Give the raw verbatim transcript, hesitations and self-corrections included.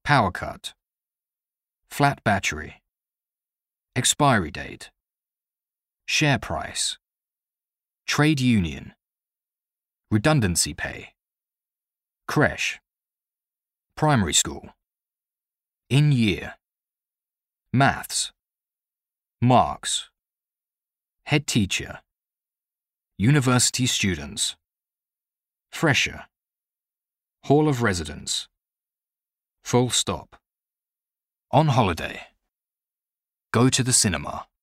Power cut. Flat battery. Expiry date. Share price. Trade union. Redundancy pay. Creche. Primary school. In year. Maths. Marks. Head teacher. University students. Fresher. Hall of residence. Full stop. On holiday. Go to the cinema.